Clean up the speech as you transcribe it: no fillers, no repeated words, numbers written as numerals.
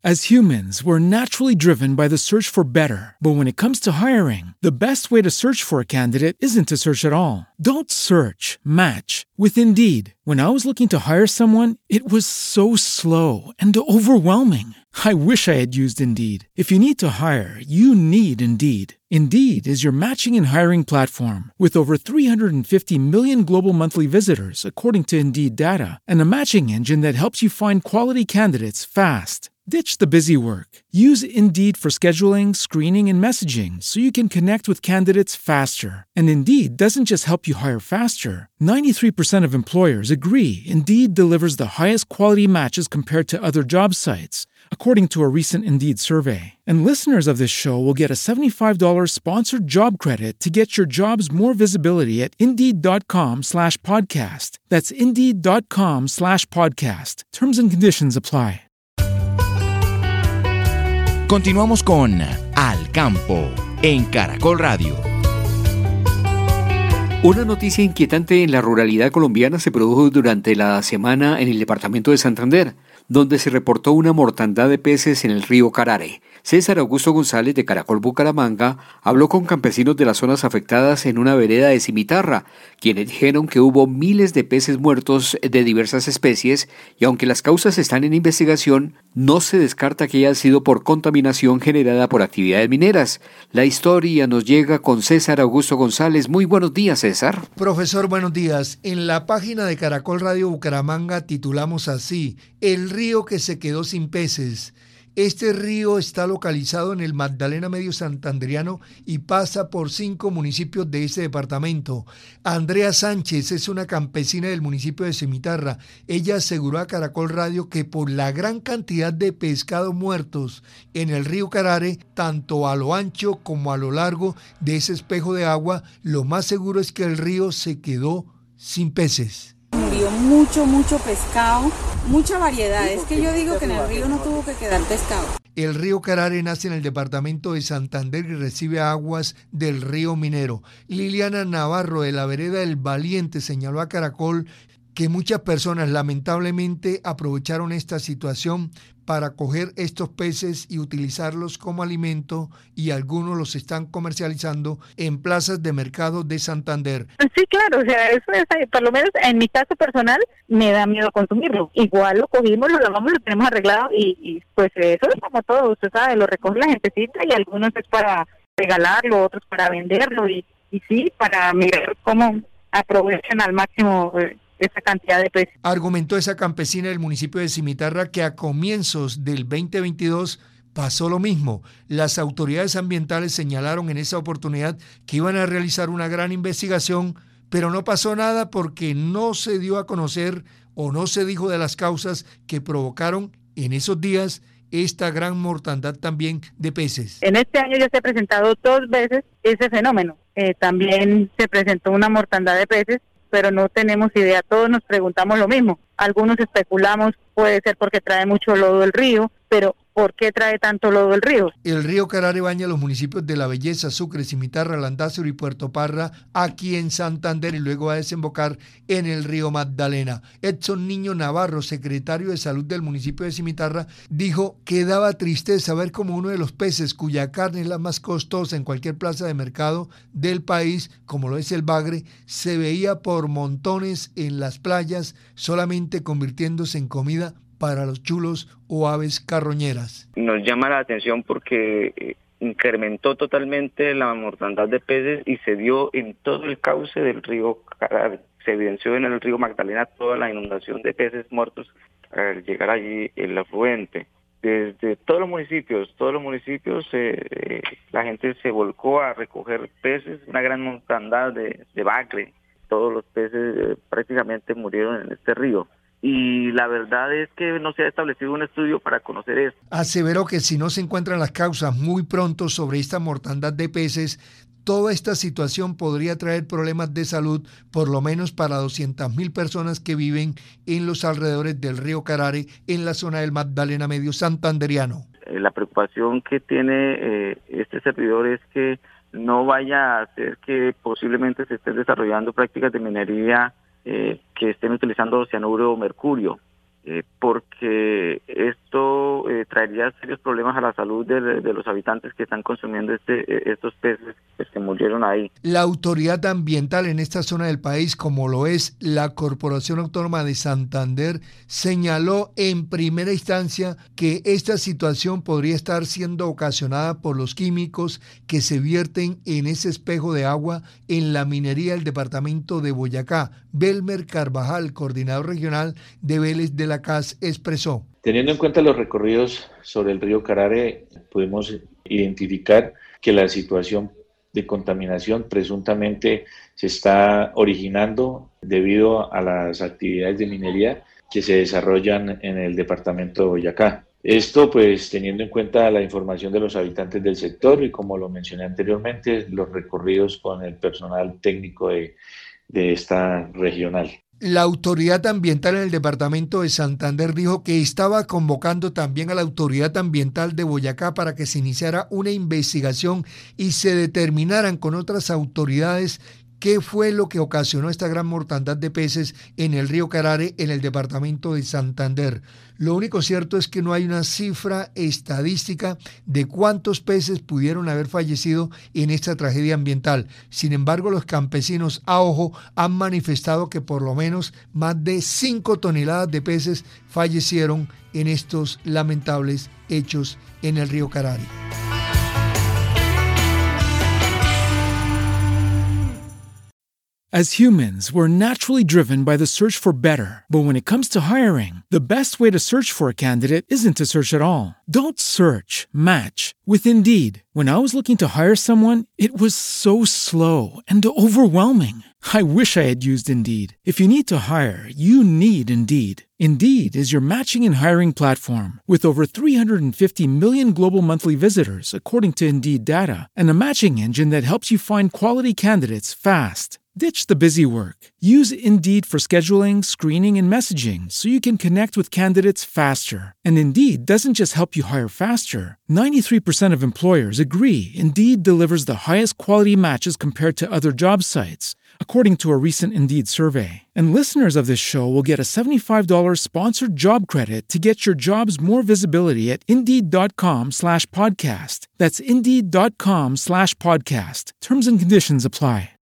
As humans, we're naturally driven by the search for better. But when it comes to hiring, the best way to search for a candidate isn't to search at all. Don't search, match with Indeed. When I was looking to hire someone, it was so slow and overwhelming. I wish I had used Indeed. If you need to hire, you need Indeed. Indeed is your matching and hiring platform with over 350 million global monthly visitors, according to Indeed data, and a matching engine that helps you find quality candidates fast. Ditch the busy work. Use Indeed for scheduling, screening, and messaging so you can connect with candidates faster. And Indeed doesn't just help you hire faster. 93% of employers agree Indeed delivers the highest quality matches compared to other job sites, according to a recent Indeed survey. And listeners of this show will get a $75 sponsored job credit to get your jobs more visibility at Indeed.com/podcast. That's Indeed.com/podcast. Terms and conditions apply. Continuamos con Al Campo en Caracol Radio. Una noticia inquietante en la ruralidad colombiana se produjo durante la semana en el departamento de Santander, donde se reportó una mortandad de peces en el río Carare. César Augusto González de Caracol Bucaramanga habló con campesinos de las zonas afectadas en una vereda de Cimitarra, quienes dijeron que hubo miles de peces muertos de diversas especies y aunque las causas están en investigación, no se descarta que haya sido por contaminación generada por actividades mineras. La historia nos llega con César Augusto González. Muy buenos días, César. Profesor, buenos días. En la página de Caracol Radio Bucaramanga titulamos así: El río que se quedó sin peces. Este río está localizado en el Magdalena Medio Santanderiano y pasa por 5 municipios de este departamento. Andrea Sánchez es una campesina del municipio de Cimitarra. Ella aseguró a Caracol Radio que por la gran cantidad de pescados muertos en el río Carare, tanto a lo ancho como a lo largo de ese espejo de agua, lo más seguro es que el río se quedó sin peces. Murió mucho pescado, mucha variedad. Es que yo digo que en el río no tuvo que quedar pescado. El río Carare nace en el departamento de Santander y recibe aguas del río Minero. Liliana Navarro de la vereda El Valiente señaló a Caracol que muchas personas lamentablemente aprovecharon esta situación para coger estos peces y utilizarlos como alimento y algunos los están comercializando en plazas de mercado de Santander. Sí, claro, o sea, eso es, por lo menos en mi caso personal, me da miedo consumirlo. Igual lo cogimos, lo lavamos, lo tenemos arreglado y pues eso es como todo, usted sabe, lo recoge la gentecita y algunos es para regalarlo, otros para venderlo y sí, para mirar cómo aprovechan al máximo esa cantidad de peces. Argumentó esa campesina del municipio de Cimitarra que a comienzos del 2022 pasó lo mismo. Las autoridades ambientales señalaron en esa oportunidad que iban a realizar una gran investigación, pero no pasó nada porque no se dio a conocer o no se dijo de las causas que provocaron en esos días esta gran mortandad también de peces. En este año ya se ha presentado 2 veces ese fenómeno. También se presentó una mortandad de peces, pero no tenemos idea, todos nos preguntamos lo mismo. Algunos especulamos, puede ser porque trae mucho lodo del río, pero ¿por qué trae tanto lodo el río? El río Carare baña los municipios de La Belleza, Sucre, Cimitarra, Landázuri y Puerto Parra, aquí en Santander, y luego va a desembocar en el río Magdalena. Edson Niño Navarro, secretario de Salud del municipio de Cimitarra, dijo que daba tristeza ver como uno de los peces cuya carne es la más costosa en cualquier plaza de mercado del país, como lo es el bagre, se veía por montones en las playas, solamente convirtiéndose en comida para los chulos o aves carroñeras. Nos llama la atención porque incrementó totalmente la mortandad de peces y se dio en todo el cauce del río Carare. Se evidenció en el río Magdalena toda la inundación de peces muertos al llegar allí el afluente. Desde todos los municipios, la gente se volcó a recoger peces, una gran mortandad de bagre. Todos los peces prácticamente murieron en este río. Y la verdad es que no se ha establecido un estudio para conocer esto. Aseveró que si no se encuentran las causas muy pronto sobre esta mortandad de peces, toda esta situación podría traer problemas de salud, por lo menos para 200.000 personas que viven en los alrededores del río Carare, en la zona del Magdalena Medio Santanderiano. La preocupación que tiene este servidor es que no vaya a hacer que posiblemente se estén desarrollando prácticas de minería que estén utilizando cianuro o mercurio. porque esto traería serios problemas a la salud de los habitantes que están consumiendo estos peces que murieron ahí. La autoridad ambiental en esta zona del país, como lo es la Corporación Autónoma de Santander, señaló en primera instancia que esta situación podría estar siendo ocasionada por los químicos que se vierten en ese espejo de agua en la minería del departamento de Boyacá. Belmer Carvajal, coordinador regional de Vélez de la CAS, expresó. Teniendo en cuenta los recorridos sobre el río Carare, pudimos identificar que la situación de contaminación presuntamente se está originando debido a las actividades de minería que se desarrollan en el departamento de Boyacá. Esto pues teniendo en cuenta la información de los habitantes del sector y, como lo mencioné anteriormente, los recorridos con el personal técnico de esta regional. La autoridad ambiental en el departamento de Santander dijo que estaba convocando también a la autoridad ambiental de Boyacá para que se iniciara una investigación y se determinaran con otras autoridades qué fue lo que ocasionó esta gran mortandad de peces en el río Carare, en el departamento de Santander. Lo único cierto es que no hay una cifra estadística de cuántos peces pudieron haber fallecido en esta tragedia ambiental. Sin embargo, los campesinos a ojo han manifestado que por lo menos más de 5 toneladas de peces fallecieron en estos lamentables hechos en el río Carare. As humans, we're naturally driven by the search for better. But when it comes to hiring, the best way to search for a candidate isn't to search at all. Don't search, match with Indeed. When I was looking to hire someone, it was so slow and overwhelming. I wish I had used Indeed. If you need to hire, you need Indeed. Indeed is your matching and hiring platform with over 350 million global monthly visitors, according to Indeed data, and a matching engine that helps you find quality candidates fast. Ditch the busy work. Use Indeed for scheduling, screening, and messaging so you can connect with candidates faster. And Indeed doesn't just help you hire faster. 93% of employers agree Indeed delivers the highest quality matches compared to other job sites, according to a recent Indeed survey. And listeners of this show will get a $75 sponsored job credit to get your jobs more visibility at Indeed.com/podcast. That's Indeed.com/podcast. Terms and conditions apply.